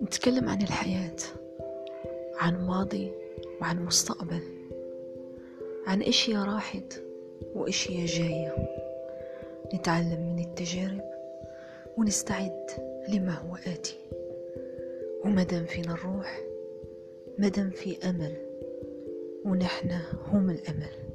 نتكلم عن الحياة، عن ماضي وعن مستقبل، عن اشياء راحت واشياء جاية. نتعلم من التجارب ونستعد لما هو آتي. ومدام فينا الروح، مدام في أمل، ونحن هم الأمل.